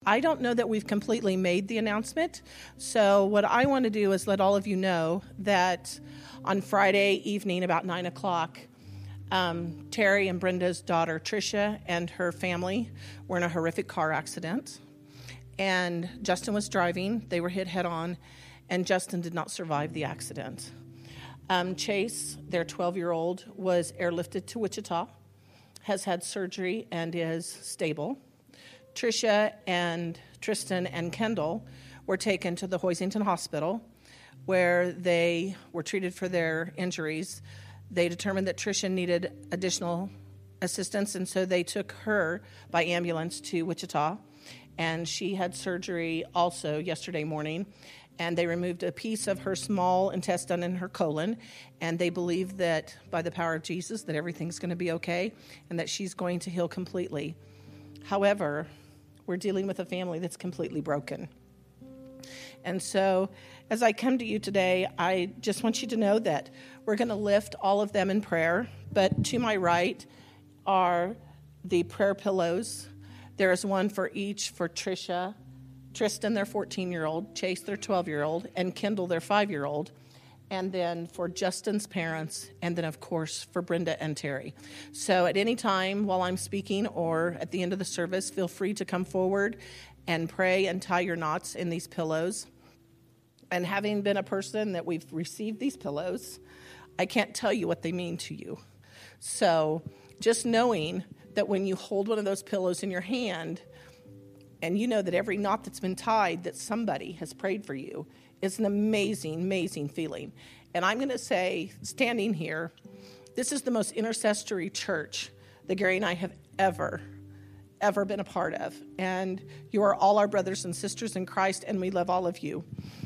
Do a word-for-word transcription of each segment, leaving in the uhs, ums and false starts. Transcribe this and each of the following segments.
I don't know that we've completely made the announcement, so what I want to do is let all of you know that on Friday evening about nine o'clock, um, Terry and Brenda's daughter, Tricia, and her family were in a horrific car accident, and Justin was driving. They were hit head-on, and Justin did not survive the accident. Um, Chase, their twelve-year-old, was airlifted to Wichita, has had surgery, and is stable. Tricia and Tristan and Kendall were taken to the Hoisington Hospital where they were treated for their injuries. They determined that Tricia needed additional assistance, and so they took her by ambulance to Wichita. And she had surgery also yesterday morning, and they removed a piece of her small intestine and her colon, and they believe that by the power of Jesus that everything's going to be okay and that she's going to heal completely. However, we're dealing with a family that's completely broken. And so as I come to you today, I just want you to know that we're going to lift all of them in prayer. But to my right are the prayer pillows. There is one for each for Tricia, Tristan, their fourteen-year-old, Chase, their twelve-year-old, and Kendall, their five-year-old. And then for Justin's parents, and then, of course, for Brenda and Terry. So at any time while I'm speaking or at the end of the service, feel free to come forward and pray and tie your knots in these pillows. And having been a person that we've received these pillows, I can't tell you what they mean to you. So just knowing that when you hold one of those pillows in your hand, and you know that every knot that's been tied, that somebody has prayed for you, it's an amazing, amazing feeling. And I'm going to say, standing here, this is the most intercessory church that Gary and I have ever, ever been a part of. And you are all our brothers and sisters in Christ, and we love all of you.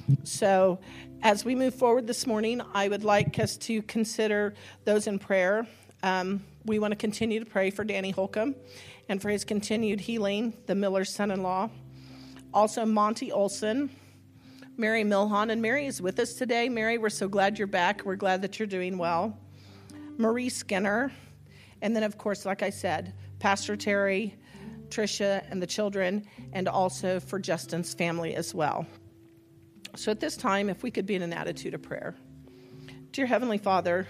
So as we move forward this morning, I would like us to consider those in prayer. Um, we want to continue to pray for Danny Holcomb and for his continued healing, the Miller's son-in-law. Also, Monty Olson, Mary Milhon, and Mary is with us today. Mary, we're so glad you're back. We're glad that you're doing well. Marie Skinner, and then, of course, like I said, Pastor Terry, Tricia, and the children, and also for Justin's family as well. So at this time, if we could be in an attitude of prayer. Dear Heavenly Father,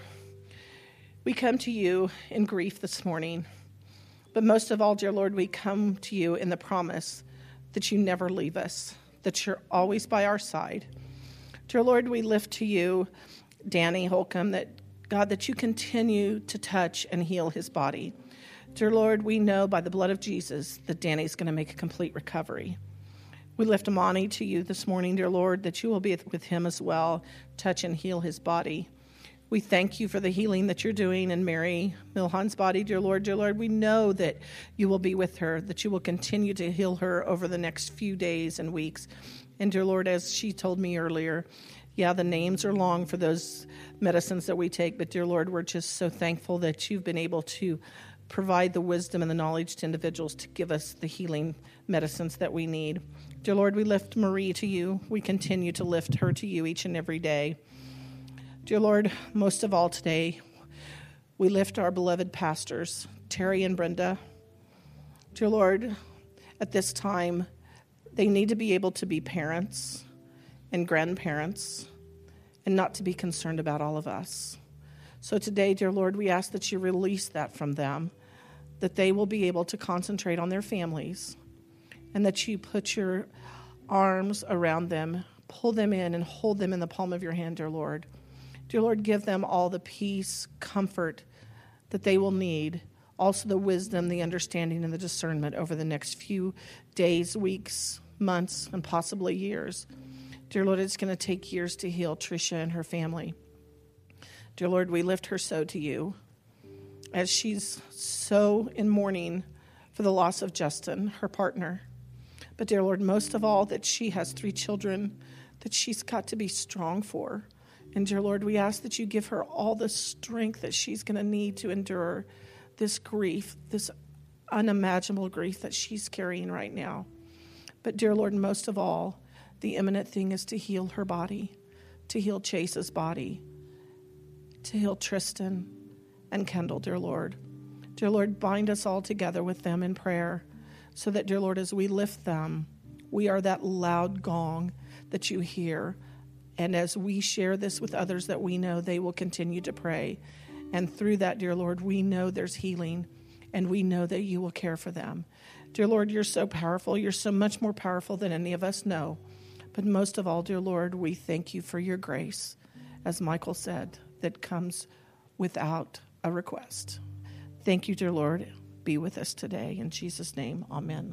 we come to you in grief this morning, but most of all, dear Lord, we come to you in the promise that you never leave us, that you're always by our side. Dear Lord, we lift to you Danny Holcomb, that God, that you continue to touch and heal his body. Dear Lord, we know by the blood of Jesus that Danny's going to make a complete recovery. We lift Amani to you this morning, dear Lord, that you will be with him as well, touch and heal his body. We thank you for the healing that you're doing in Mary Milhon's body, dear Lord. Dear Lord, we know that you will be with her, that you will continue to heal her over the next few days and weeks. And dear Lord, as she told me earlier, yeah, the names are long for those medicines that we take, but dear Lord, we're just so thankful that you've been able to provide the wisdom and the knowledge to individuals to give us the healing medicines that we need. Dear Lord, we lift Marie to you. We continue to lift her to you each and every day. Dear Lord, most of all today, we lift our beloved pastors, Terry and Brenda. Dear Lord, at this time, they need to be able to be parents and grandparents and not to be concerned about all of us. So today, dear Lord, we ask that you release that from them, that they will be able to concentrate on their families, and that you put your arms around them, pull them in, and hold them in the palm of your hand, dear Lord. Dear Lord, give them all the peace, comfort that they will need, also the wisdom, the understanding, and the discernment over the next few days, weeks, months, and possibly years. Dear Lord, it's going to take years to heal Tricia and her family. Dear Lord, we lift her so to you as she's so in mourning for the loss of Justin, her partner. But dear Lord, most of all, that she has three children that she's got to be strong for. And dear Lord, we ask that you give her all the strength that she's going to need to endure this grief, this unimaginable grief that she's carrying right now. But dear Lord, most of all, the imminent thing is to heal her body, to heal Chase's body, to heal Tristan and Kendall, dear Lord. Dear Lord, bind us all together with them in prayer so that, dear Lord, as we lift them, We are that loud gong that you hear. And as we share this with others that we know, they will continue to pray. And through that, dear Lord, we know there's healing, and we know that you will care for them. Dear Lord, you're so powerful. You're so much more powerful than any of us know. But most of all, dear Lord, we thank you for your grace, as Michael said, that comes without a request. Thank you, dear Lord. Be with us today. In Jesus' name, amen.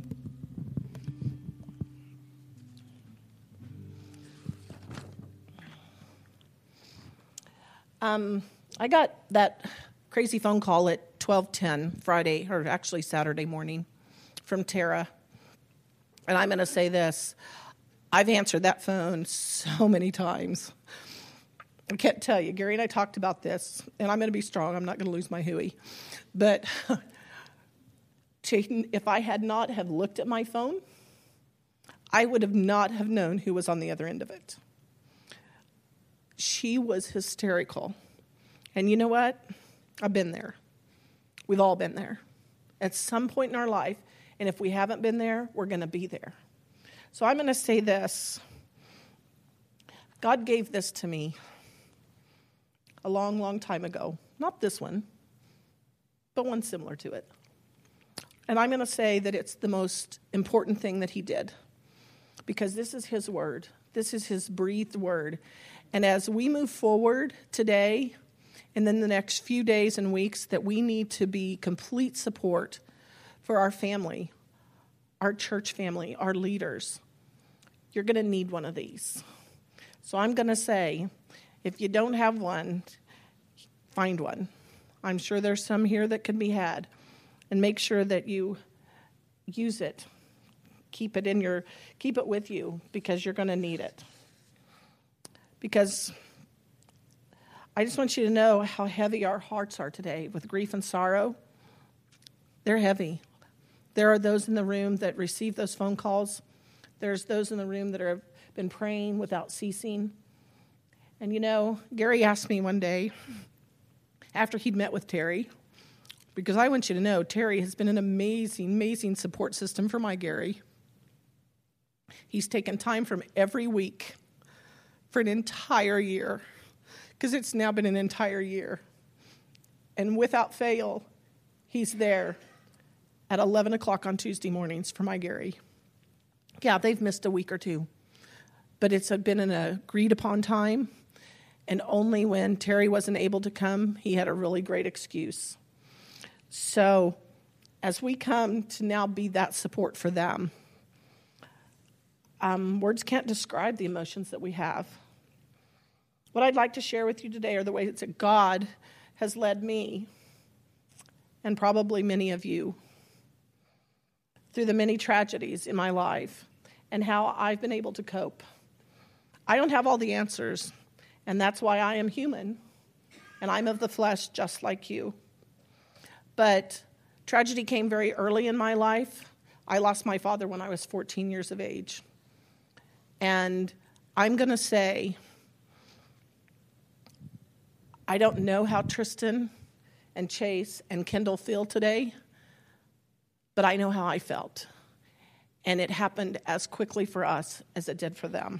Um, I got that crazy phone call at twelve ten Friday, or actually Saturday morning, from Tara. And I'm going to say this. I've answered that phone so many times. I can't tell you. Gary and I talked about this, and I'm going to be strong. I'm not going to lose my hooey. But if I had not have looked at my phone, I would have not have known who was on the other end of it. She was hysterical. And you know what? I've been there. We've all been there at some point in our life. And if we haven't been there, we're going to be there. So I'm going to say this. God gave this to me a long, long time ago. Not this one, but one similar to it. And I'm going to say that it's the most important thing that he did, because this is his word. This is his breathed word. And as we move forward today and then the next few days and weeks, that we need to be complete support for our family, our church family, our leaders. You're going to need one of these. So I'm going to say, if you don't have one, find one. I'm sure there's some here that can be had. And make sure that you use it. Keep it in your, keep it with you, because you're going to need it. Because I just want you to know how heavy our hearts are today with grief and sorrow. They're heavy. There are those in the room that receive those phone calls. There's those in the room that have been praying without ceasing. And you know, Gary asked me one day, after he'd met with Terry, because I want you to know, Terry has been an amazing, amazing support system for my Gary. He's taken time from every week for an entire year, because it's now been an entire year. And without fail, he's there at eleven o'clock on Tuesday mornings for my Gary. Yeah, they've missed a week or two, but it's been an agreed upon time. And only when Terry wasn't able to come, he had a really great excuse. So as we come to now be that support for them, um, words can't describe the emotions that we have. What I'd like to share with you today are the ways that God has led me, and probably many of you, through the many tragedies in my life, and how I've been able to cope. I don't have all the answers, and that's why I am human, and I'm of the flesh just like you. But tragedy came very early in my life. I lost my father when I was fourteen years of age. And I'm going to say, I don't know how Tristan and Chase and Kendall feel today, but I know how I felt. And it happened as quickly for us as it did for them.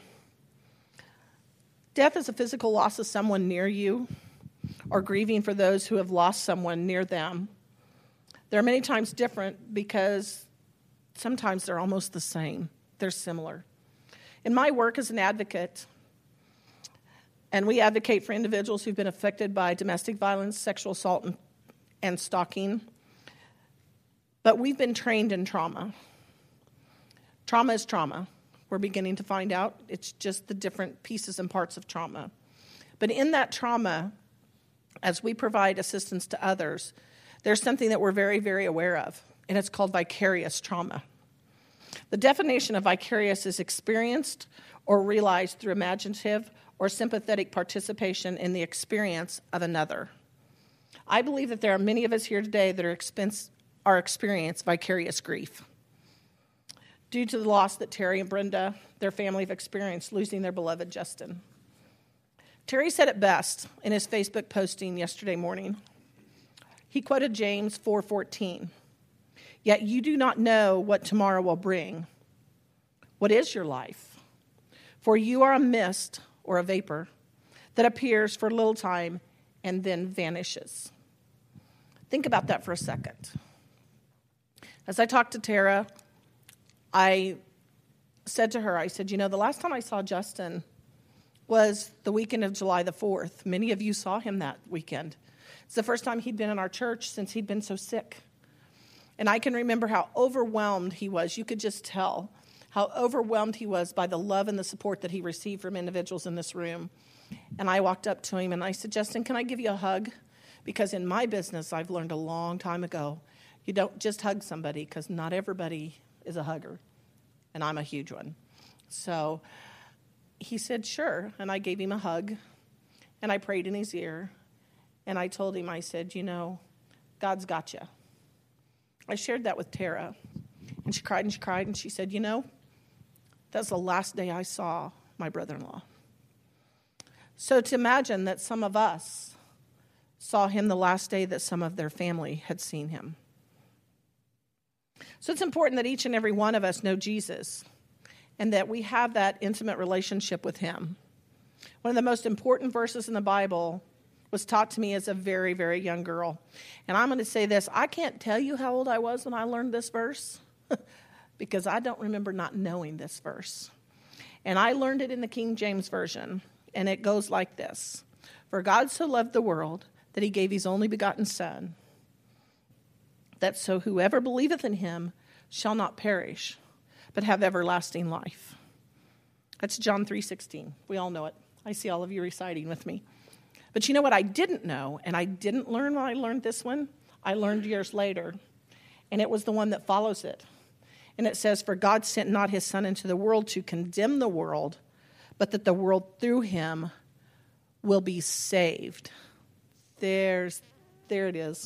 Death is a physical loss of someone near you, or grieving for those who have lost someone near them. They're many times different because sometimes they're almost the same. They're similar. In my work as an advocate, and we advocate for individuals who've been affected by domestic violence, sexual assault, and, and stalking, but we've been trained in trauma. Trauma is trauma. We're beginning to find out it's just the different pieces and parts of trauma. But in that trauma, as we provide assistance to others, there's something that we're very, very aware of, and it's called vicarious trauma. The definition of vicarious is experienced or realized through imaginative or sympathetic participation in the experience of another. I believe that there are many of us here today that are, expense, are experience vicarious grief due to the loss that Terry and Brenda, their family, have experienced, losing their beloved Justin. Terry said it best in his Facebook posting yesterday morning. He quoted James four fourteen. Yet you do not know what tomorrow will bring. What is your life? For you are a mist or a vapor that appears for a little time and then vanishes. Think about that for a second. As I talked to Tara, I said to her, I said, you know, the last time I saw Justin was the weekend of July the fourth. Many of you saw him that weekend. It's the first time he'd been in our church since he'd been so sick. And I can remember how overwhelmed he was. You could just tell how overwhelmed he was by the love and the support that he received from individuals in this room. And I walked up to him and I said, Justin, can I give you a hug? Because in my business, I've learned a long time ago, you don't just hug somebody because not everybody is a hugger. And I'm a huge one. So he said, sure. And I gave him a hug. And I prayed in his ear. And I told him, I said, you know, God's got you. I shared that with Tara. And she cried and she cried. And she said, you know, that's the last day I saw my brother-in-law. So to imagine that some of us saw him the last day that some of their family had seen him. So it's important that each and every one of us know Jesus and that we have that intimate relationship with him. One of the most important verses in the Bible was taught to me as a very, very young girl. And I'm going to say this, I can't tell you how old I was when I learned this verse because I don't remember not knowing this verse. And I learned it in the King James Version, and it goes like this. For God so loved the world that he gave his only begotten Son, that so whoever believeth in him shall not perish, but have everlasting life. That's John three sixteen. We all know it. I see all of you reciting with me. But you know what I didn't know, and I didn't learn when I learned this one? I learned years later, and it was the one that follows it. And it says, for God sent not his Son into the world to condemn the world, but that the world through him will be saved. There's, there it is.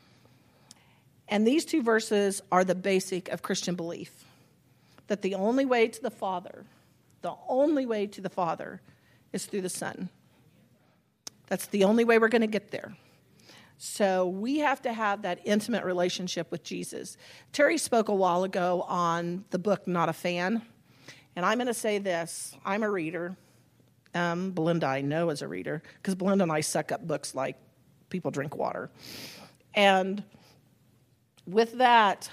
And these two verses are the basic of Christian belief, that the only way to the Father, the only way to the Father is through the Son. That's the only way we're going to get there. So we have to have that intimate relationship with Jesus. Terry spoke a while ago on the book Not a Fan. And I'm going to say this. I'm a reader. Um, Belinda I know is a reader because Belinda and I suck up books like people drink water. And with that,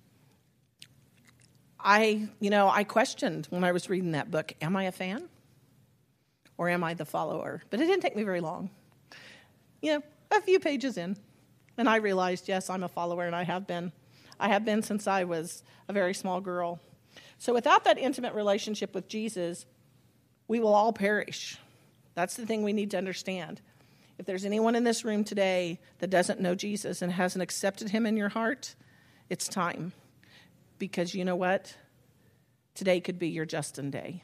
I, you know, I questioned when I was reading that book, am I a fan or am I the follower? But it didn't take me very long. You know, a few pages in, and I realized, yes, I'm a follower, and I have been. I have been since I was a very small girl. So without that intimate relationship with Jesus, we will all perish. That's the thing we need to understand. If there's anyone in this room today that doesn't know Jesus and hasn't accepted him in your heart, it's time. Because you know what? Today could be your Justin day.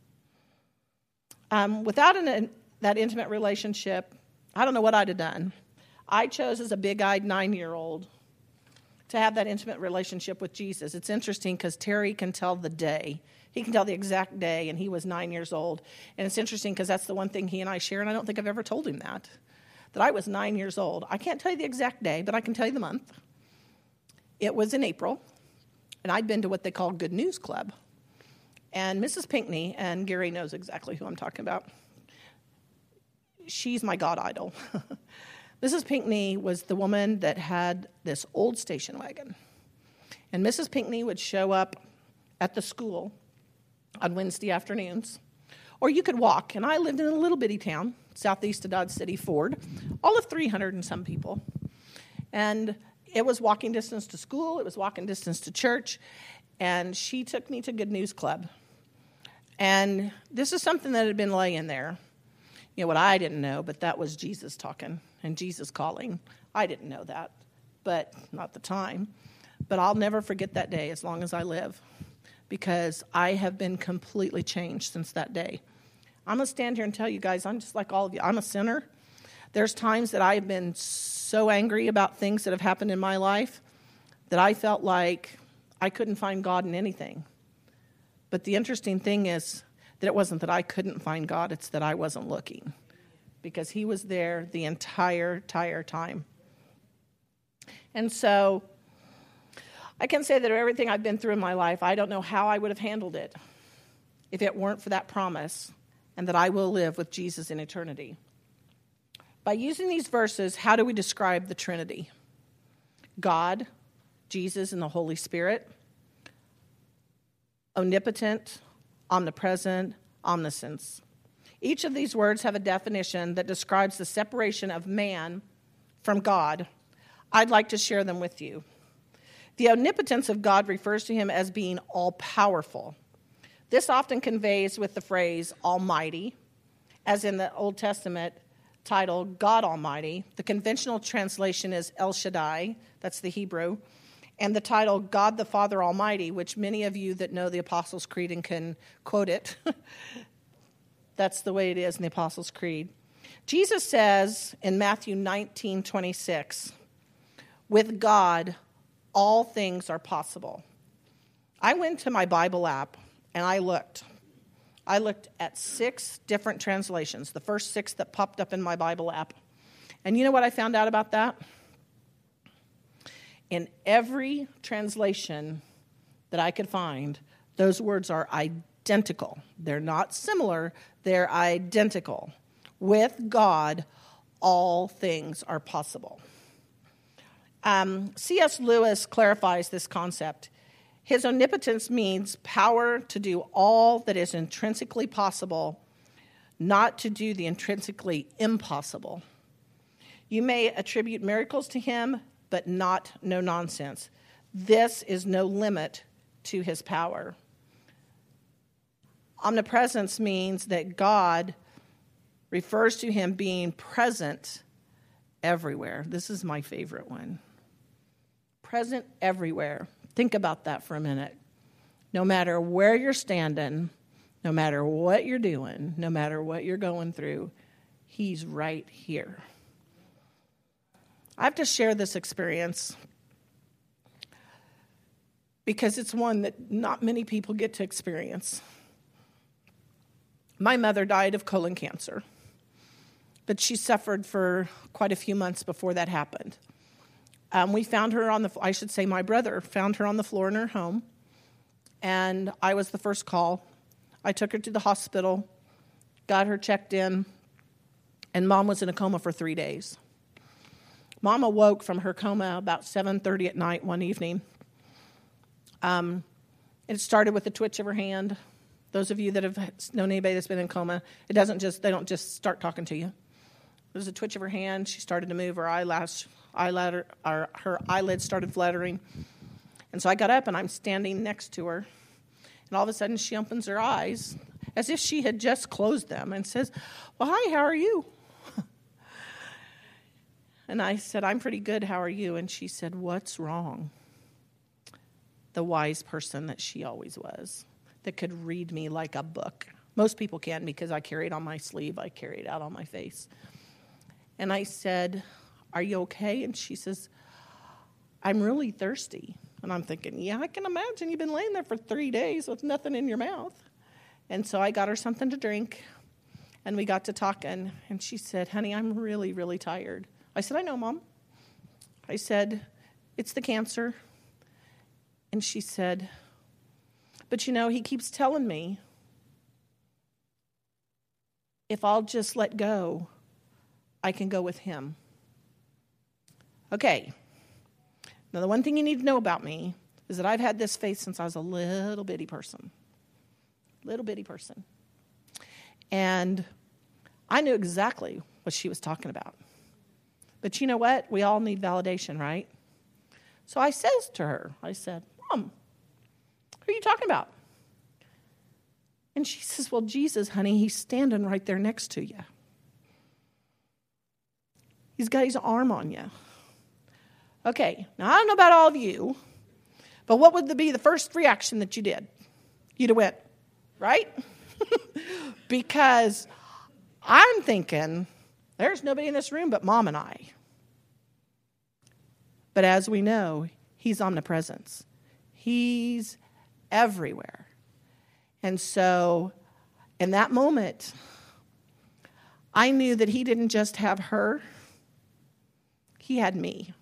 Um, without an, that intimate relationship, I don't know what I'd have done. I chose as a big-eyed nine-year-old to have that intimate relationship with Jesus. It's interesting because Terry can tell the day. He can tell the exact day, and he was nine years old. And it's interesting because that's the one thing he and I share, and I don't think I've ever told him that, that I was nine years old. I can't tell you the exact day, but I can tell you the month. It was in April, and I'd been to what they call Good News Club. And Missus Pinckney, and Gary knows exactly who I'm talking about, she's my God idol. Missus Pinckney was the woman that had this old station wagon. And Missus Pinckney would show up at the school on Wednesday afternoons. Or you could walk. And I lived in a little bitty town, southeast of Dodge City, Ford, all of three hundred and some people. And it was walking distance to school. It was walking distance to church. And she took me to Good News Club. And this is something that had been laying there. You know, what I didn't know, but that was Jesus talking and Jesus calling. I didn't know that, but not the time. But I'll never forget that day as long as I live because I have been completely changed since that day. I'm going to stand here and tell you guys, I'm just like all of you. I'm a sinner. There's times that I've been so angry about things that have happened in my life that I felt like I couldn't find God in anything. But the interesting thing is, that it wasn't that I couldn't find God, it's that I wasn't looking. Because he was there the entire, entire time. And so, I can say that everything I've been through in my life, I don't know how I would have handled it if it weren't for that promise and that I will live with Jesus in eternity. By using these verses, how do we describe the Trinity? God, Jesus, and the Holy Spirit. Omnipotent, omnipresent, omniscience. Each of these words have a definition that describes the separation of man from God. I'd like to share them with you. The omnipotence of God refers to him as being all-powerful. This often conveys with the phrase almighty, as in the Old Testament title God Almighty. The conventional translation is El Shaddai, that's the Hebrew, and the title God the Father Almighty, which many of you that know the Apostles' Creed and can quote it, that's the way it is in the Apostles' Creed. Jesus says in Matthew nineteen twenty-six, with God, all things are possible. I went to my Bible app and I looked. I looked at six different translations, the first six that popped up in my Bible app. And you know what I found out about that? In every translation that I could find, those words are identical. They're not similar, they're identical. With God, all things are possible. Um, C S Lewis clarifies this concept. His omnipotence means power to do all that is intrinsically possible, not to do the intrinsically impossible. You may attribute miracles to him, but not no nonsense. This is no limit to his power. Omnipresence means that God refers to him being present everywhere. This is my favorite one. Present everywhere. Think about that for a minute. No matter where you're standing, no matter what you're doing, no matter what you're going through, he's right here. I have to share this experience because it's one that not many people get to experience. My mother died of colon cancer, but she suffered for quite a few months before that happened. Um, we found her on the, I should say my brother found her on the floor in her home, and I was the first call. I took her to the hospital, got her checked in, and Mom was in a coma for three days. Mom awoke from her coma about seven thirty at night one evening. Um, it started with a twitch of her hand. Those of you that have known anybody that's been in coma, it doesn't just, they don't just start talking to you. There was a twitch of her hand. She started to move. Her eyelash, eyelid, her, her eyelids started fluttering. And so I got up, and I'm standing next to her. And all of a sudden, she opens her eyes as if she had just closed them and says, well, hi, how are you? And I said, I'm pretty good. How are you? And she said, what's wrong? The wise person that she always was, that could read me like a book. Most people can because I carry it on my sleeve. I carry it out on my face. And I said, are you okay? And she says, I'm really thirsty. And I'm thinking, yeah, I can imagine you've been laying there for three days with nothing in your mouth. And so I got her something to drink, and we got to talking. And she said, honey, I'm really, really tired. I said, I know, Mom. I said, it's the cancer. And she said, but you know, he keeps telling me if I'll just let go, I can go with him. Okay. Now, the one thing you need to know about me is that I've had this faith since I was a little bitty person. Little bitty person. And I knew exactly what she was talking about. But you know what? We all need validation, right? So I says to her, I said, Mom, who are you talking about? And she says, well, Jesus, honey, he's standing right there next to you. He's got his arm on you. Okay, now I don't know about all of you, but what would be the first reaction that you did? You'd have went, right? Because I'm thinking, there's nobody in this room but Mom and I. But as we know, he's omnipresence. He's everywhere. And so in that moment, I knew that he didn't just have her, he had me.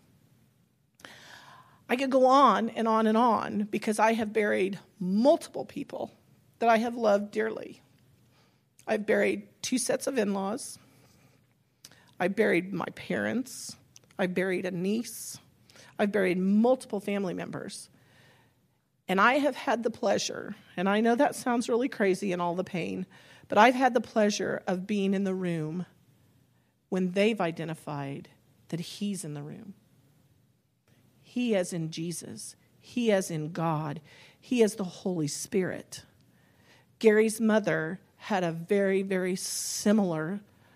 I could go on and on and on because I have buried multiple people that I have loved dearly. I've buried two sets of in-laws. I buried my parents. I buried a niece. I've buried multiple family members. And I have had the pleasure, and I know that sounds really crazy and all the pain, but I've had the pleasure of being in the room when they've identified that he's in the room. He as in Jesus. He as in God. He as the Holy Spirit. Gary's mother had a very, very similar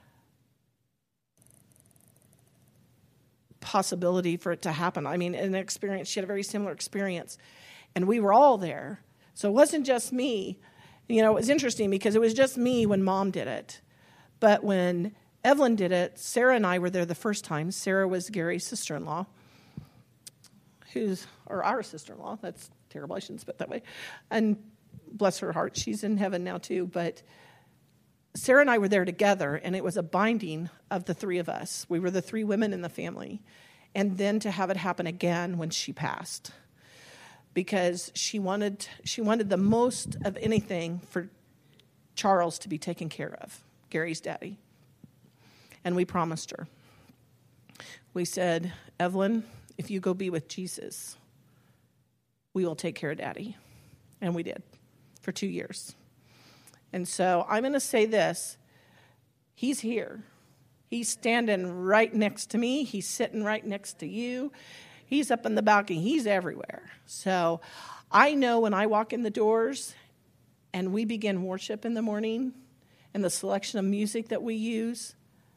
possibility for it to happen. I mean, an experience, she had a very similar experience. And we were all there. So it wasn't just me. You know, it was interesting because it was just me when Mom did it. But when Evelyn did it, Sarah and I were there the first time. Sarah was Gary's sister-in-law, who's, or our sister-in-law. That's terrible. I shouldn't spit that way. And bless her heart, she's in heaven now too. But Sarah and I were there together, and it was a binding of the three of us. We were the three women in the family. And then to have it happen again when she passed. Because she wanted she wanted the most of anything for Charles to be taken care of, Gary's daddy. And we promised her. We said, Evelyn, if you go be with Jesus, we will take care of Daddy. And we did for two years. And so I'm going to say this. He's here. He's standing right next to me. He's sitting right next to you. He's up in the balcony. He's everywhere. So I know when I walk in the doors and we begin worship in the morning and the selection of music that we use,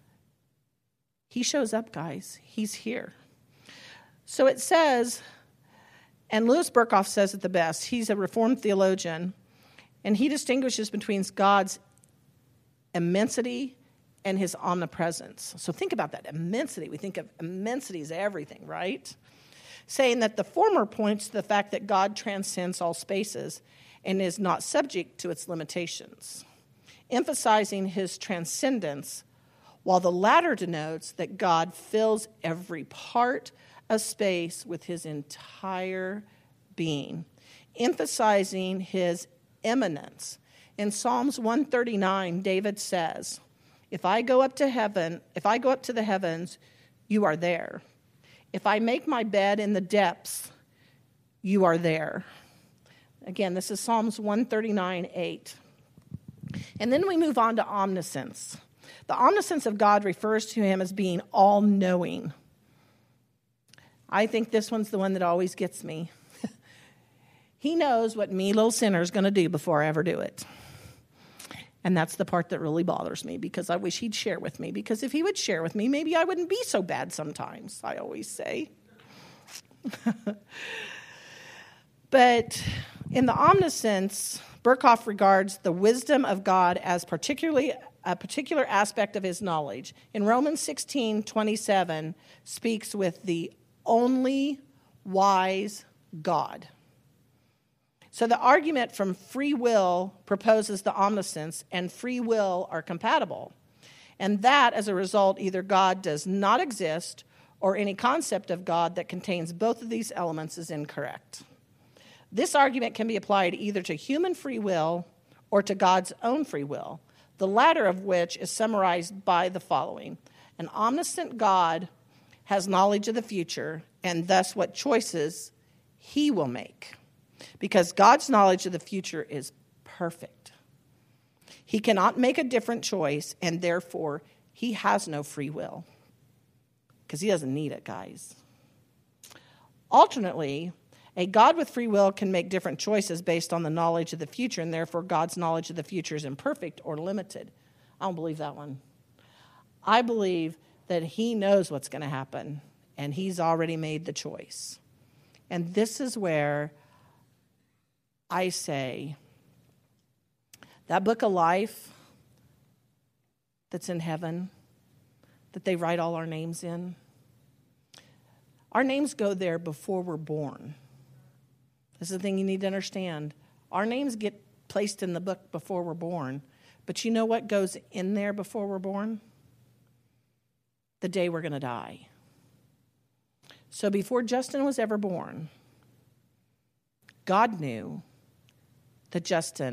he shows up, guys. He's here. So it says, and Louis Berkhoff says it the best. He's a Reformed theologian, and he distinguishes between God's immensity and his omnipresence. So think about that, immensity. We think of immensity as everything, right? Saying that the former points to the fact that God transcends all spaces and is not subject to its limitations, emphasizing his transcendence, while the latter denotes that God fills every part of space with his entire being, emphasizing his immanence. In Psalms one thirty-nine, David says, If I go up to heaven, if I go up to the heavens, you are there. If I make my bed in the depths, you are there. Again, this is Psalms one thirty-nine, eight. And then we move on to omniscience. The omniscience of God refers to him as being all-knowing. I think this one's the one that always gets me. He knows what me, little sinner, is going to do before I ever do it. And that's the part that really bothers me, because I wish he'd share with me. Because if he would share with me, maybe I wouldn't be so bad sometimes, I always say. But in the omniscience, Berkhoff regards the wisdom of God as particularly a particular aspect of his knowledge. In Romans sixteen twenty-seven, speaks with the only wise God. So the argument from free will proposes the omniscience and free will are compatible. And that, as a result, either God does not exist or any concept of God that contains both of these elements is incorrect. This argument can be applied either to human free will or to God's own free will, the latter of which is summarized by the following. An omniscient God has knowledge of the future and thus what choices he will make. Because God's knowledge of the future is perfect. He cannot make a different choice, and therefore he has no free will. Because he doesn't need it, guys. Alternately, a God with free will can make different choices based on the knowledge of the future, and therefore God's knowledge of the future is imperfect or limited. I don't believe that one. I believe that he knows what's going to happen, and he's already made the choice. And this is where I say that book of life that's in heaven, that they write all our names in, our names go there before we're born. This is the thing you need to understand. Our names get placed in the book before we're born. But you know what goes in there before we're born? The day we're going to die. So before Justin was ever born, God knew that Justin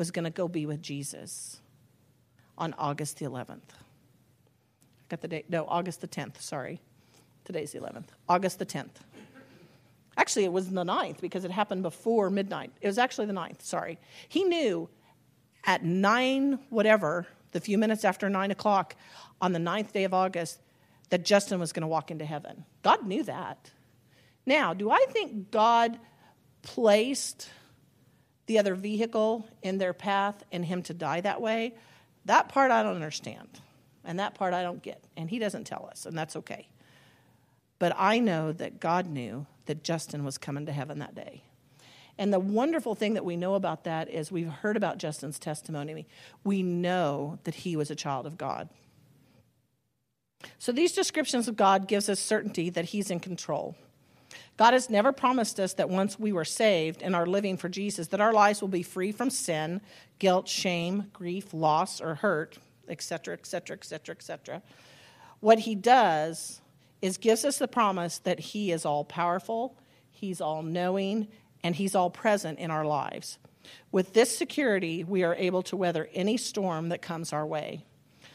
was going to go be with Jesus on August the eleventh. Got the date? No, August the tenth, sorry. Today's the eleventh. August the tenth. Actually, it was the ninth because it happened before midnight. It was actually the ninth, sorry. He knew at nine whatever, the few minutes after nine o'clock on the ninth day of August, that Justin was going to walk into heaven. God knew that. Now, do I think God placed the other vehicle in their path and him to die that way? That part I don't understand. And that part I don't get. And he doesn't tell us, and that's okay. But I know that God knew that Justin was coming to heaven that day. And the wonderful thing that we know about that is we've heard about Justin's testimony. We know that he was a child of God. So these descriptions of God gives us certainty that he's in control. God has never promised us that once we were saved and are living for Jesus, that our lives will be free from sin, guilt, shame, grief, loss, or hurt, et cetera, et cetera, et cetera, et cetera. What he does is gives us the promise that he is all-powerful, he's all-knowing, and he's all-present in our lives. With this security, we are able to weather any storm that comes our way.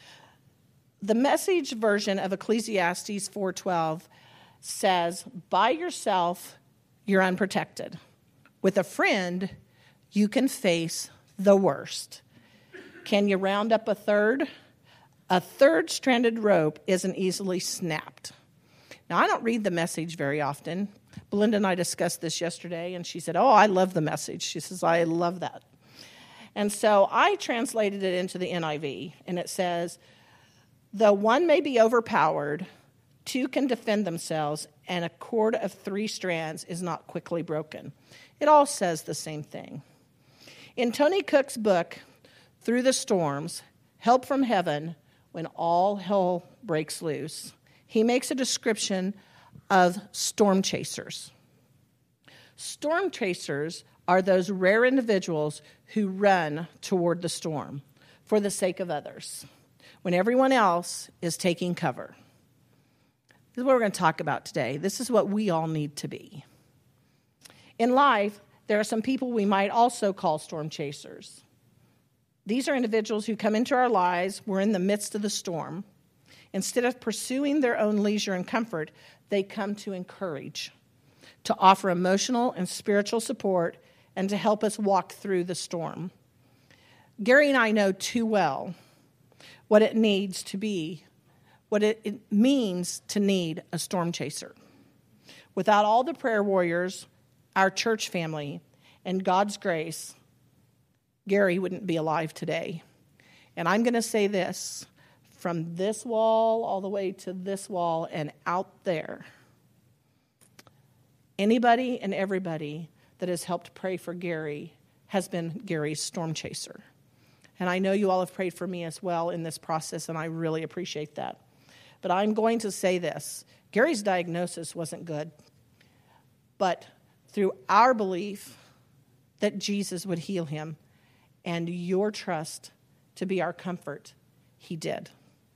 The Message version of Ecclesiastes four twelve says, by yourself, you're unprotected. With a friend, you can face the worst. Can you round up a third? A third stranded rope isn't easily snapped. Now, I don't read the Message very often. Belinda and I discussed this yesterday, and she said, oh, I love the Message. She says, I love that. And so I translated it into the N I V, and it says, though one may be overpowered, two can defend themselves, and a cord of three strands is not quickly broken. It all says the same thing. In Tony Cook's book, Through the Storms, Help from Heaven, When All Hell Breaks Loose, he makes a description of storm chasers. Storm chasers are those rare individuals who run toward the storm for the sake of others, when everyone else is taking cover. This is what we're going to talk about today. This is what we all need to be. In life, there are some people we might also call storm chasers. These are individuals who come into our lives. We're in the midst of the storm. Instead of pursuing their own leisure and comfort, they come to encourage, to offer emotional and spiritual support, and to help us walk through the storm. Gary and I know too well what it needs to be, what it, it means to need a storm chaser. Without all the prayer warriors, our church family, and God's grace, Gary wouldn't be alive today. And I'm going to say this, from this wall all the way to this wall and out there, anybody and everybody that has helped pray for Gary has been Gary's storm chaser. And I know you all have prayed for me as well in this process, and I really appreciate that. But I'm going to say this. Gary's diagnosis wasn't good. But through our belief that Jesus would heal him and your trust to be our comfort, he did.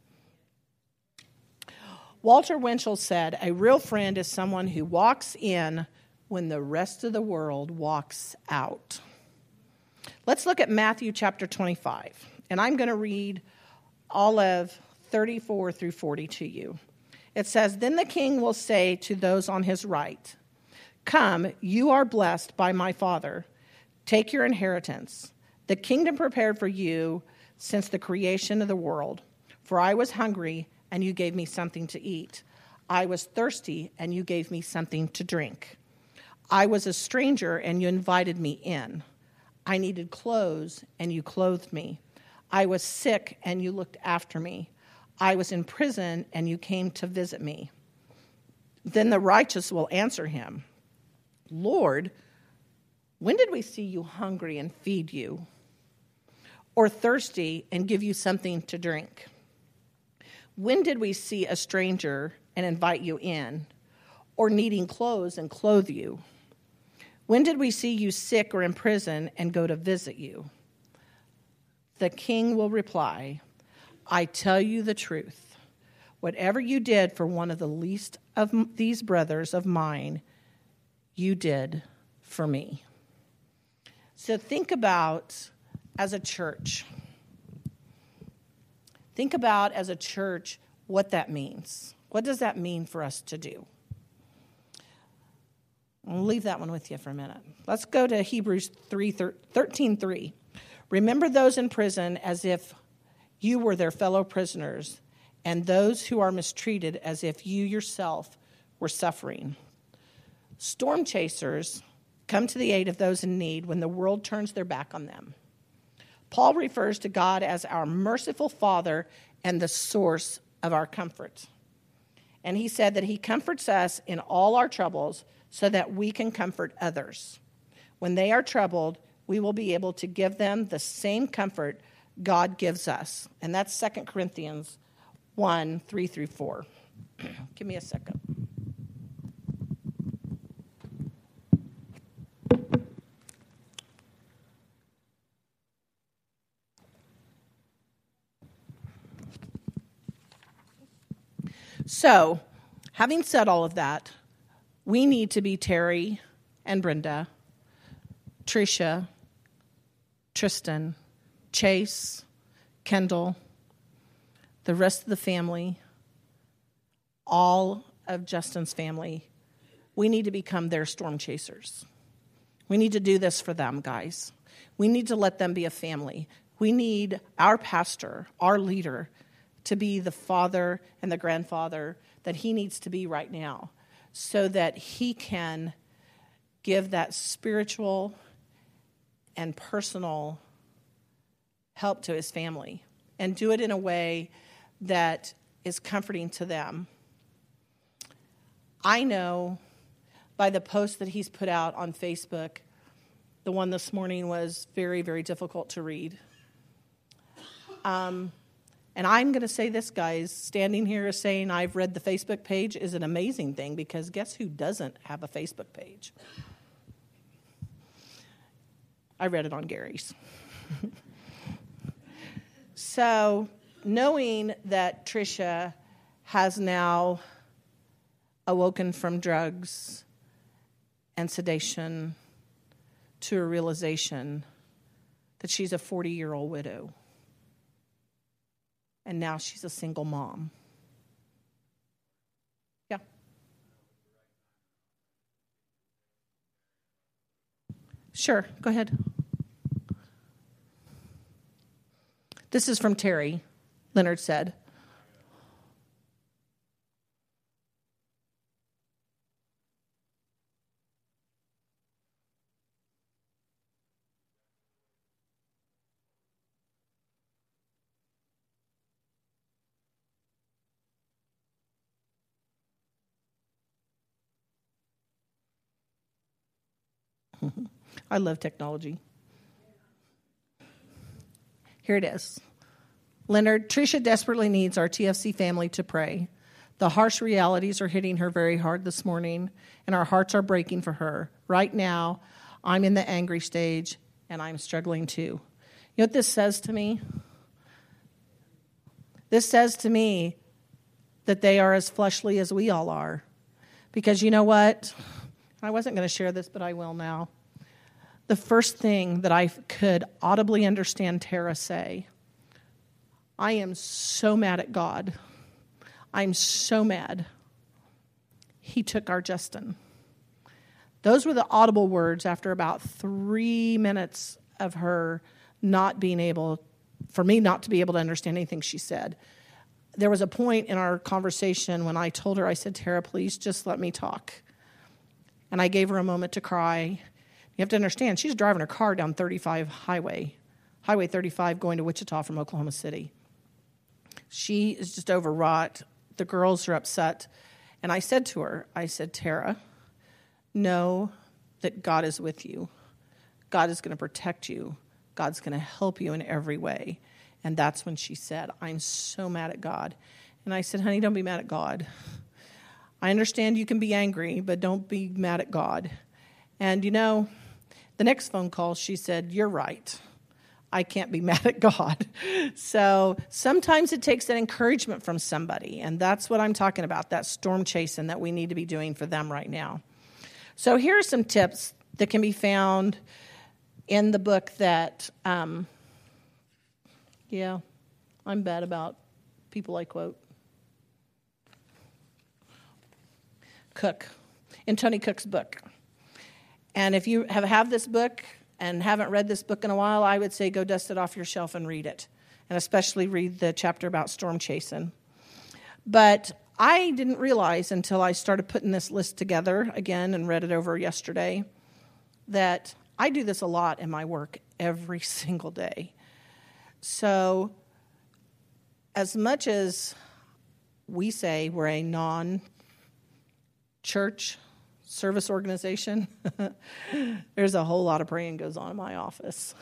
Walter Winchell said, a real friend is someone who walks in when the rest of the world walks out. Let's look at Matthew chapter twenty-five, and I'm going to read all of thirty-four through forty to you. It says, then the king will say to those on his right, come, you are blessed by my Father. Take your inheritance, the kingdom prepared for you since the creation of the world. For I was hungry, and you gave me something to eat. I was thirsty, and you gave me something to drink. I was a stranger, and you invited me in. I needed clothes, and you clothed me. I was sick, and you looked after me. I was in prison, and you came to visit me. Then the righteous will answer him, Lord, when did we see you hungry and feed you, or thirsty and give you something to drink? When did we see a stranger and invite you in, or needing clothes and clothe you? When did we see you sick or in prison and go to visit you? The king will reply, I tell you the truth. Whatever you did for one of the least of these brothers of mine, you did for me. So think about as a church. Think about, as a church, what that means. What does that mean for us to do? I'll leave that one with you for a minute. Let's go to Hebrews thirteen three. Remember those in prison as if you were their fellow prisoners, and those who are mistreated as if you yourself were suffering. Storm chasers come to the aid of those in need when the world turns their back on them. Paul refers to God as our merciful Father and the source of our comfort. And he said that he comforts us in all our troubles so that we can comfort others. When they are troubled, we will be able to give them the same comfort God gives us. And that's Second Corinthians one, three through four. Give me a second. So, having said all of that, we need to be Terry and Brenda, Tricia, Tristan, Chase, Kendall, the rest of the family, all of Justin's family. We need to become their storm chasers. We need to do this for them, guys. We need to let them be a family. We need our pastor, our leader, to be the father and the grandfather that he needs to be right now, so that he can give that spiritual and personal help to his family and do it in a way that is comforting to them. I know by the post that he's put out on Facebook, the one this morning was very, very difficult to read. Um, and I'm going to say this, guys, standing here saying I've read the Facebook page is an amazing thing, because guess who doesn't have a Facebook page? I read it on Gary's. So, knowing that Tricia has now awoken from drugs and sedation to a realization that she's a forty-year-old widow, and now she's a single mom. Yeah. Sure, go ahead. This is from Terry, Leonard said. I love technology. Here it is. Leonard, Tricia desperately needs our T F C family to pray. The harsh realities are hitting her very hard this morning, and our hearts are breaking for her. Right now, I'm in the angry stage, and I'm struggling too. You know what this says to me? This says to me that they are as fleshly as we all are. Because you know what? I wasn't going to share this, but I will now. The first thing that I could audibly understand Tara say, I am so mad at God. I'm so mad. He took our Justin. Those were the audible words after about three minutes of her not being able, for me not to be able to understand anything she said. There was a point in our conversation when I told her, I said, Tara, please just let me talk. And I gave her a moment to cry. You have to understand, she's driving her car down thirty-five highway, Highway thirty-five going to Wichita from Oklahoma City. She is just overwrought. The girls are upset. And I said to her, I said, Tara, know that God is with you. God is going to protect you. God's going to help you in every way. And that's when she said, I'm so mad at God. And I said, honey, don't be mad at God. I understand you can be angry, but don't be mad at God. And, you know, the next phone call, she said, you're right. I can't be mad at God. So sometimes it takes that encouragement from somebody, and that's what I'm talking about, that storm chasing that we need to be doing for them right now. So here are some tips that can be found in the book that um, Yeah, I'm bad about people I quote. Cook, in Tony Cook's book. And if you have, have this book and haven't read this book in a while, I would say go dust it off your shelf and read it. And especially read the chapter about storm chasing. But I didn't realize until I started putting this list together again and read it over yesterday that I do this a lot in my work every single day. So as much as we say we're a non-church service organization, there's a whole lot of praying goes on in my office.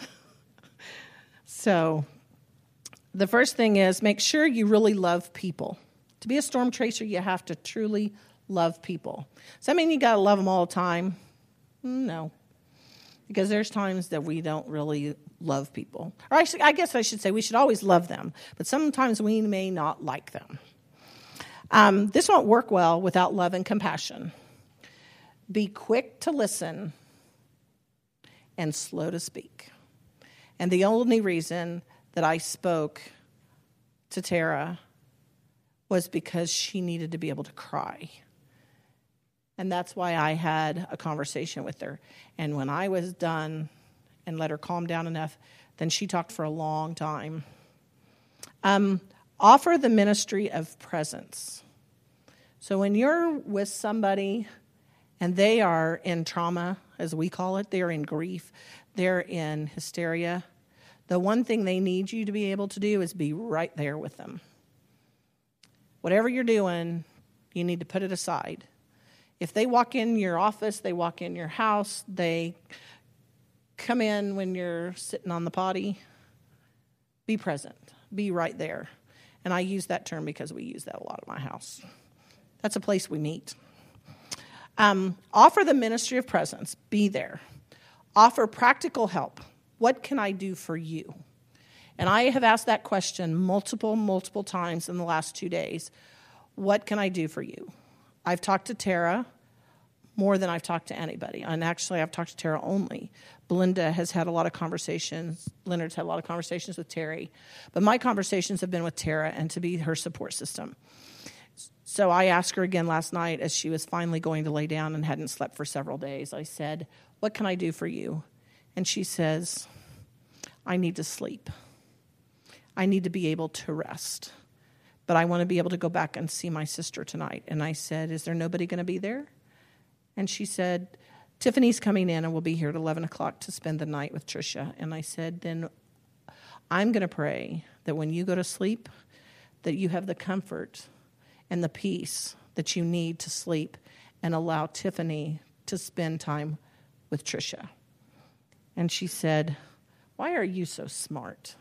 So the first thing is make sure you really love people. To be a storm tracer, you have to truly love people. Does that mean you got to love them all the time? No. Because there's times that we don't really love people. Or I, should, I guess I should say we should always love them, but sometimes we may not like them. Um, this won't work well without love and compassion. Be quick to listen and slow to speak. And the only reason that I spoke to Tara was because she needed to be able to cry. And that's why I had a conversation with her. And when I was done and let her calm down enough, then she talked for a long time. Um, offer the ministry of presence. So when you're with somebody and they are in trauma, as we call it, they're in grief, they're in hysteria, the one thing they need you to be able to do is be right there with them. Whatever you're doing, you need to put it aside. If they walk in your office, they walk in your house, they come in when you're sitting on the potty, be present. Be right there. And I use that term because we use that a lot at my house. That's a place we meet. Um, offer the ministry of presence. Be there. Offer practical help. What can I do for you? And I have asked that question multiple, multiple times in the last two days. What can I do for you? I've talked to Tara more than I've talked to anybody. And actually, I've talked to Tara only. Belinda has had a lot of conversations. Leonard's had a lot of conversations with Terry. But my conversations have been with Tara and to be her support system. So I asked her again last night as she was finally going to lay down and hadn't slept for several days. I said, what can I do for you? And she says, I need to sleep. I need to be able to rest. But I want to be able to go back and see my sister tonight. And I said, is there nobody going to be there? And she said, Tiffany's coming in and will be here at eleven o'clock to spend the night with Tricia. And I said, then I'm going to pray that when you go to sleep, that you have the comfort and the peace that you need to sleep and allow Tiffany to spend time with Tricia. And she said, why are you so smart?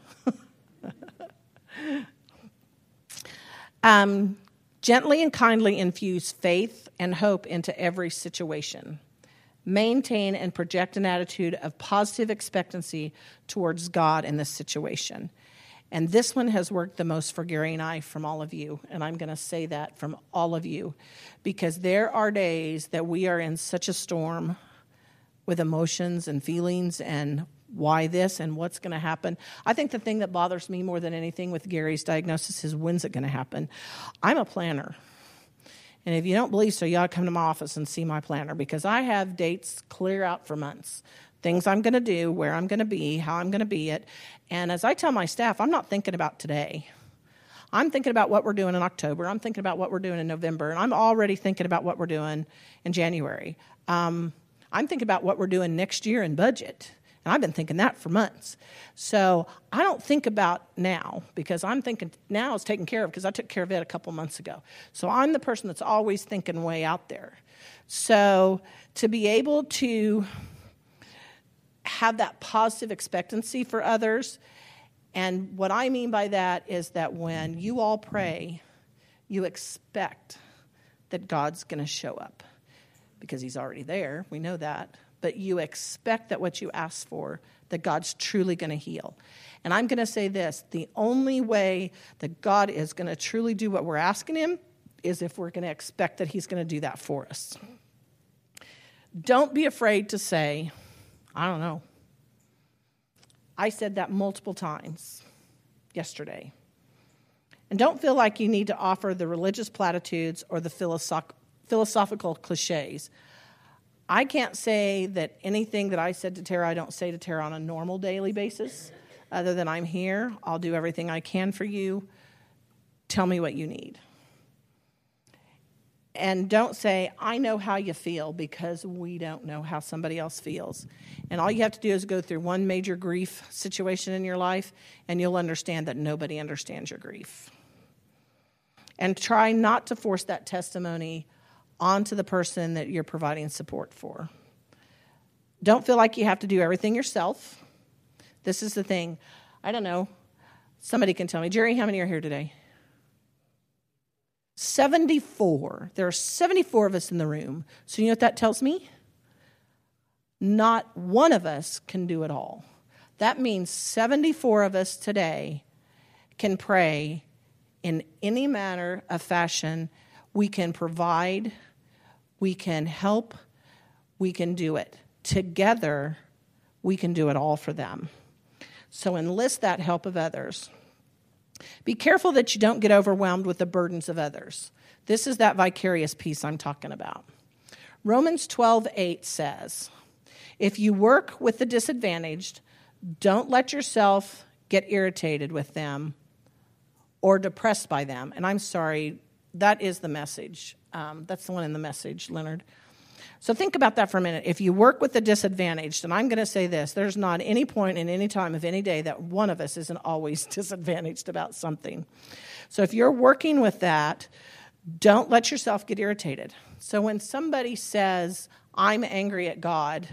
um, gently and kindly infuse faith and hope into every situation. Maintain and project an attitude of positive expectancy towards God in this situation. And this one has worked the most for Gary and I from all of you. And I'm going to say that from all of you. Because there are days that we are in such a storm with emotions and feelings and why this and what's going to happen. I think the thing that bothers me more than anything with Gary's diagnosis is when's it going to happen. I'm a planner. And if you don't believe so, you ought to come to my office and see my planner because I have dates clear out for months. Things I'm going to do, where I'm going to be, how I'm going to be it. And as I tell my staff, I'm not thinking about today. I'm thinking about what we're doing in October. I'm thinking about what we're doing in November. And I'm already thinking about what we're doing in January. Um, I'm thinking about what we're doing next year in budget. And I've been thinking that for months. So I don't think about now because I'm thinking now is taken care of because I took care of it a couple months ago. So I'm the person that's always thinking way out there. So to be able to have that positive expectancy for others, and what I mean by that is that when you all pray, you expect that God's going to show up because he's already there. We know that. But you expect that what you ask for, that God's truly going to heal. And I'm going to say this, the only way that God is going to truly do what we're asking him is if we're going to expect that he's going to do that for us. Don't be afraid to say, I don't know. I said that multiple times. yesterday. And don't feel like you need to offer the religious platitudes or the philosoph- philosophical cliches. I can't say that anything that I said to Tara, I don't say to Tara on a normal daily basis, other than I'm here. I'll do everything I can for you. Tell me what you need. And don't say, I know how you feel, because we don't know how somebody else feels. And all you have to do is go through one major grief situation in your life, and you'll understand that nobody understands your grief. And try not to force that testimony onto the person that you're providing support for. Don't feel like you have to do everything yourself. This is the thing. I don't know. Somebody can tell me. Jerry, how many are here today? seventy-four. There are seventy-four of us in the room. So you know what that tells me? Not one of us can do it all. That means seventy-four of us today can pray in any manner of fashion. We can provide, we can help, we can do it. Together, we can do it all for them. So enlist that help of others. Be careful that you don't get overwhelmed with the burdens of others. This is that vicarious piece I'm talking about. Romans twelve eight says, if you work with the disadvantaged, don't let yourself get irritated with them or depressed by them. And I'm sorry, that is the Message. Um, that's the one in the Message, Leonard. So think about that for a minute. If you work with the disadvantaged, and I'm going to say this, there's not any point in any time of any day that one of us isn't always disadvantaged about something. So if you're working with that, don't let yourself get irritated. So when somebody says, I'm angry at God,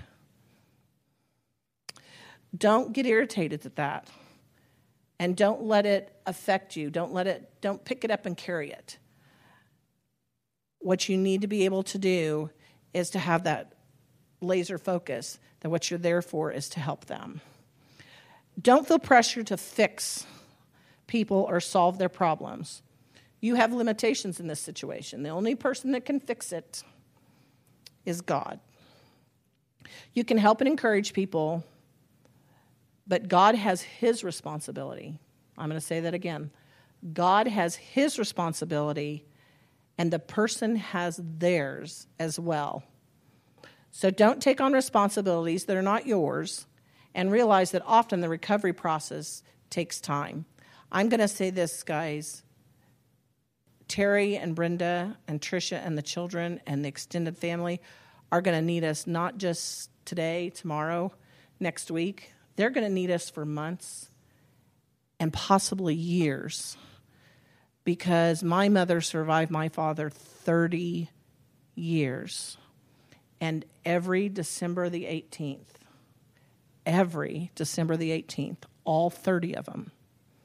don't get irritated at that. And don't let it affect you. Don't let it, don't pick it up and carry it. What you need to be able to do is to have that laser focus, that what you're there for is to help them. Don't feel pressure to fix people or solve their problems. You have limitations in this situation. The only person that can fix it is God. You can help and encourage people, but God has his responsibility. I'm going to say that again. God has his responsibility, and the person has theirs as well. So don't take on responsibilities that are not yours, and realize that often the recovery process takes time. I'm going to say this, guys. Terry and Brenda and Tricia and the children and the extended family are going to need us not just today, tomorrow, next week. They're going to need us for months and possibly years, because my mother survived my father thirty years. And every December the eighteenth, every December the eighteenth, all thirty of them,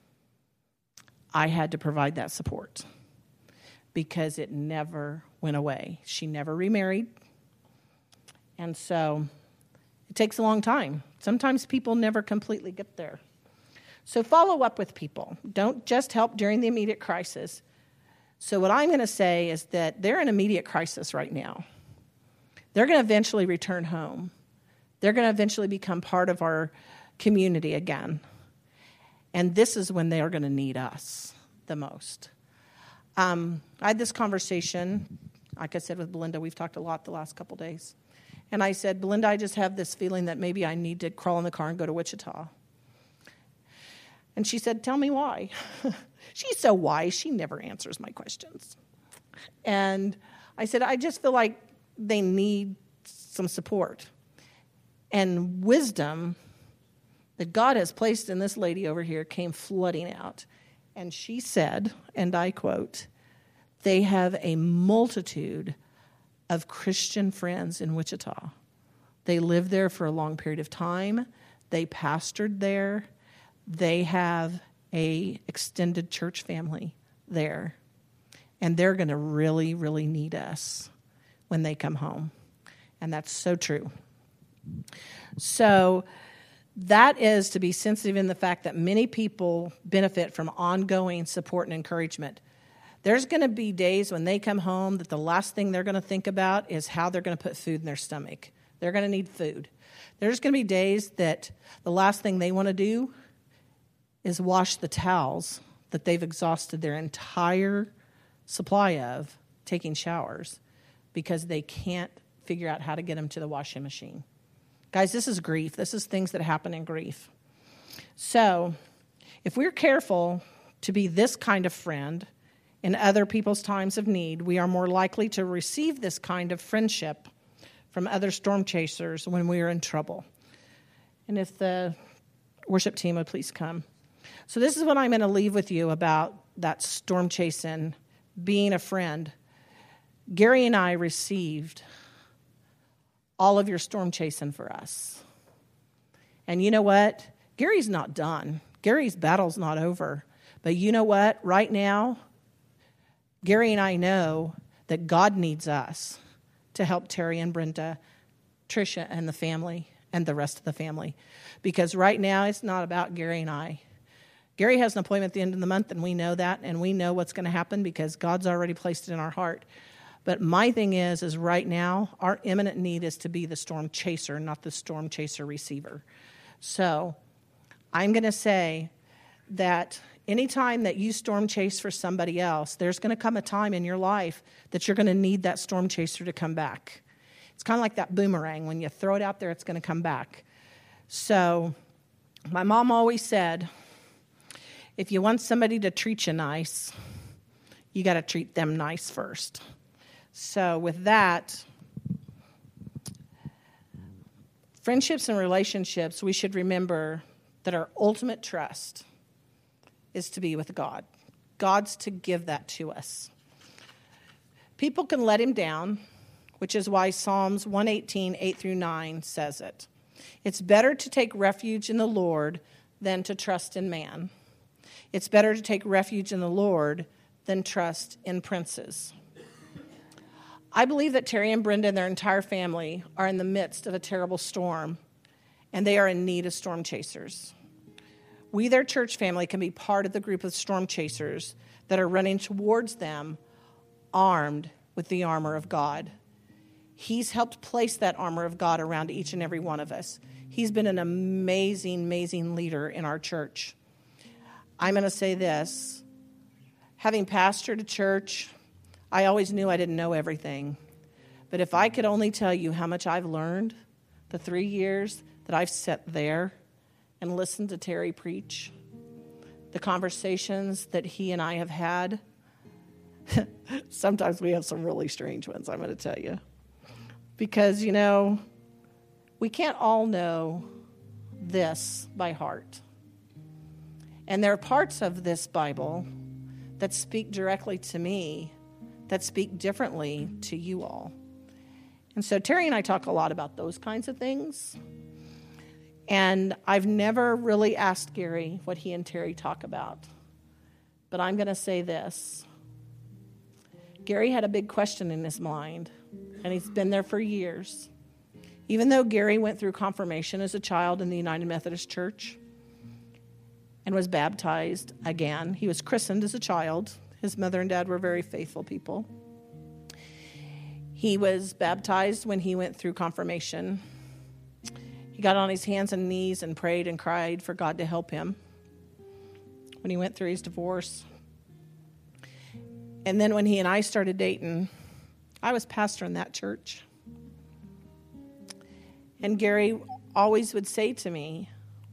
I had to provide that support because it never went away. She never remarried. And so it takes a long time. Sometimes people never completely get there. So follow up with people. Don't just help during the immediate crisis. So what I'm going to say is that they're in immediate crisis right now. They're going to eventually return home. They're going to eventually become part of our community again. And this is when they are going to need us the most. Um, I had this conversation, like I said, with Belinda. We've talked a lot the last couple days. And I said, Belinda, I just have this feeling that maybe I need to crawl in the car and go to Wichita. And she said, tell me why. She's so wise, she never answers my questions. And I said, I just feel like they need some support. And wisdom that God has placed in this lady over here came flooding out. And she said, and I quote, they have a multitude of Christian friends in Wichita. They lived there for a long period of time. They pastored there. They have a extended church family there. And they're going to really, really need us when they come home. And that's so true. So that is to be sensitive in the fact that many people benefit from ongoing support and encouragement. There's going to be days when they come home that the last thing they're going to think about is how they're going to put food in their stomach. They're going to need food. There's going to be days that the last thing they want to do is wash the towels that they've exhausted their entire supply of taking showers because they can't figure out how to get them to the washing machine. Guys, this is grief. This is things that happen in grief. So if we're careful to be this kind of friend in other people's times of need, we are more likely to receive this kind of friendship from other storm chasers when we are in trouble. And if the worship team would please come. So this is what I'm going to leave with you about that storm chasing, being a friend. Gary and I received all of your storm chasing for us. And you know what? Gary's not done. Gary's battle's not over. But you know what? Right now, Gary and I know that God needs us to help Terry and Brenda, Tricia and the family, and the rest of the family. Because right now, it's not about Gary and I. Gary has an appointment at the end of the month, and we know that, and we know what's going to happen because God's already placed it in our heart. But my thing is, is right now, our imminent need is to be the storm chaser, not the storm chaser receiver. So I'm going to say that anytime that you storm chase for somebody else, there's going to come a time in your life that you're going to need that storm chaser to come back. It's kind of like that boomerang. When you throw it out there, it's going to come back. So my mom always said, if you want somebody to treat you nice, you got to treat them nice first. So with that, friendships and relationships, we should remember that our ultimate trust is to be with God. God's to give that to us. People can let him down, which is why Psalms one eighteen, eight through nine says it. It's better to take refuge in the Lord than to trust in man. It's better to take refuge in the Lord than trust in princes. I believe that Terry and Brenda and their entire family are in the midst of a terrible storm, and they are in need of storm chasers. We, their church family, can be part of the group of storm chasers that are running towards them armed with the armor of God. He's helped place that armor of God around each and every one of us. He's been an amazing, amazing leader in our church. I'm going to say this. Having pastored a church, I always knew I didn't know everything. But if I could only tell you how much I've learned the three years that I've sat there and listened to Terry preach, the conversations that he and I have had, sometimes we have some really strange ones, I'm going to tell you. Because, you know, we can't all know this by heart. And there are parts of this Bible that speak directly to me, that speak differently to you all. And so Terry and I talk a lot about those kinds of things. And I've never really asked Gary what he and Terry talk about. But I'm going to say this. Gary had a big question in his mind, and he's been there for years. Even though Gary went through confirmation as a child in the United Methodist Church and was baptized again, he was christened as a child. His mother and dad were very faithful people. He was baptized when he went through confirmation. He got on his hands and knees and prayed and cried for God to help him when he went through his divorce. And then when he and I started dating, I was pastor in that church. And Gary always would say to me,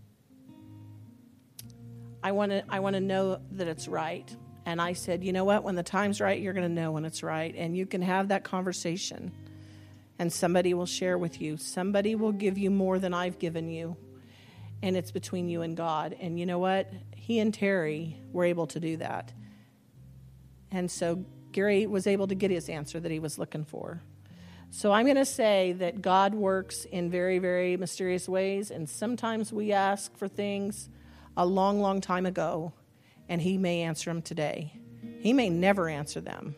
I want to I want to know that it's right. And I said, you know what? When the time's right, you're going to know when it's right. And you can have that conversation. And somebody will share with you. Somebody will give you more than I've given you. And it's between you and God. And you know what? He and Terry were able to do that. And so Gary was able to get his answer that he was looking for. So I'm going to say that God works in very, very mysterious ways. And sometimes we ask for things a long, long time ago, and he may answer them today. He may never answer them.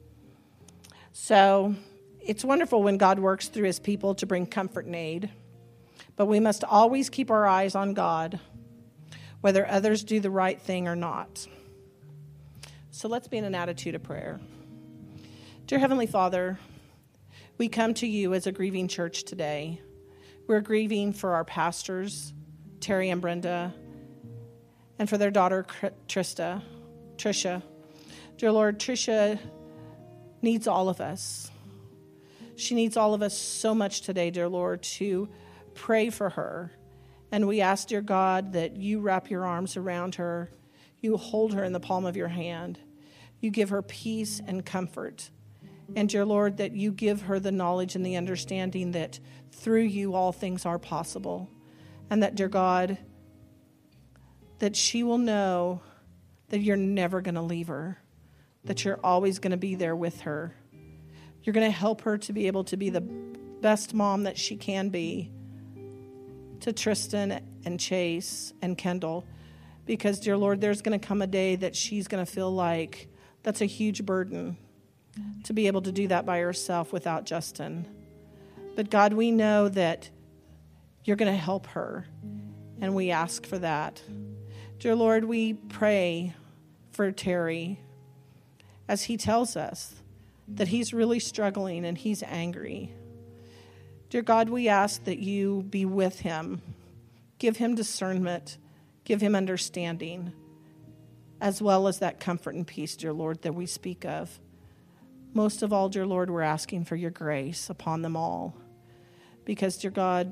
So it's wonderful when God works through his people to bring comfort and aid. But we must always keep our eyes on God, whether others do the right thing or not. So let's be in an attitude of prayer. Dear Heavenly Father, we come to you as a grieving church today. We're grieving for our pastors, Terry and Brenda, and for their daughter, Trista, Trisha. Dear Lord, Trisha needs all of us. She needs all of us so much today, dear Lord, to pray for her. And we ask, dear God, that you wrap your arms around her. You hold her in the palm of your hand. You give her peace and comfort. And, dear Lord, that you give her the knowledge and the understanding that through you all things are possible. And that, dear God, that she will know that you're never going to leave her, that you're always going to be there with her. You're going to help her to be able to be the best mom that she can be to Tristan and Chase and Kendall. Because, dear Lord, there's going to come a day that she's going to feel like that's a huge burden to be able to do that by herself without Justin. But, God, we know that you're going to help her, and we ask for that. Dear Lord, we pray for Terry as he tells us that he's really struggling and he's angry. Dear God, we ask that you be with him. Give him discernment. Give him understanding, as well as that comfort and peace, dear Lord, that we speak of. Most of all, dear Lord, we're asking for your grace upon them all. Because, dear God,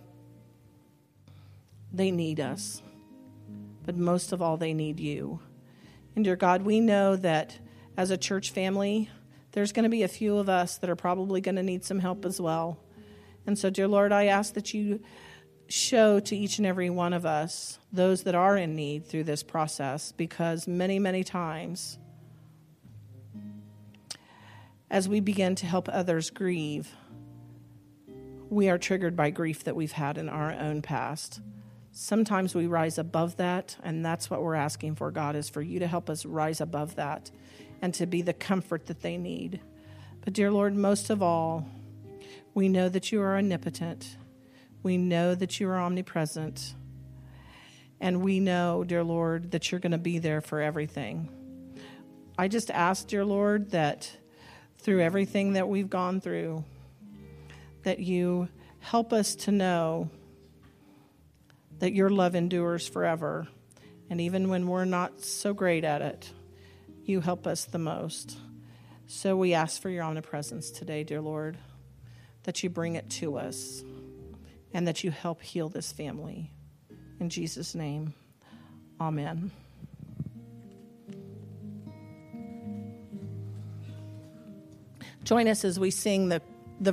they need us. But most of all, they need you. And, dear God, we know that as a church family, there's going to be a few of us that are probably going to need some help as well. And so, dear Lord, I ask that you show to each and every one of us those that are in need through this process, because many, many times as we begin to help others grieve, we are triggered by grief that we've had in our own past. Sometimes we rise above that, and that's what we're asking for, God, is for you to help us rise above that and to be the comfort that they need. But, dear Lord, most of all, we know that you are omnipotent. We know that you are omnipresent. And we know, dear Lord, that you're going to be there for everything. I just ask, dear Lord, that through everything that we've gone through, that you help us to know that your love endures forever. And even when we're not so great at it, you help us the most. So we ask for your omnipresence today, dear Lord, that you bring it to us and that you help heal this family. In Jesus' name, amen. Join us as we sing the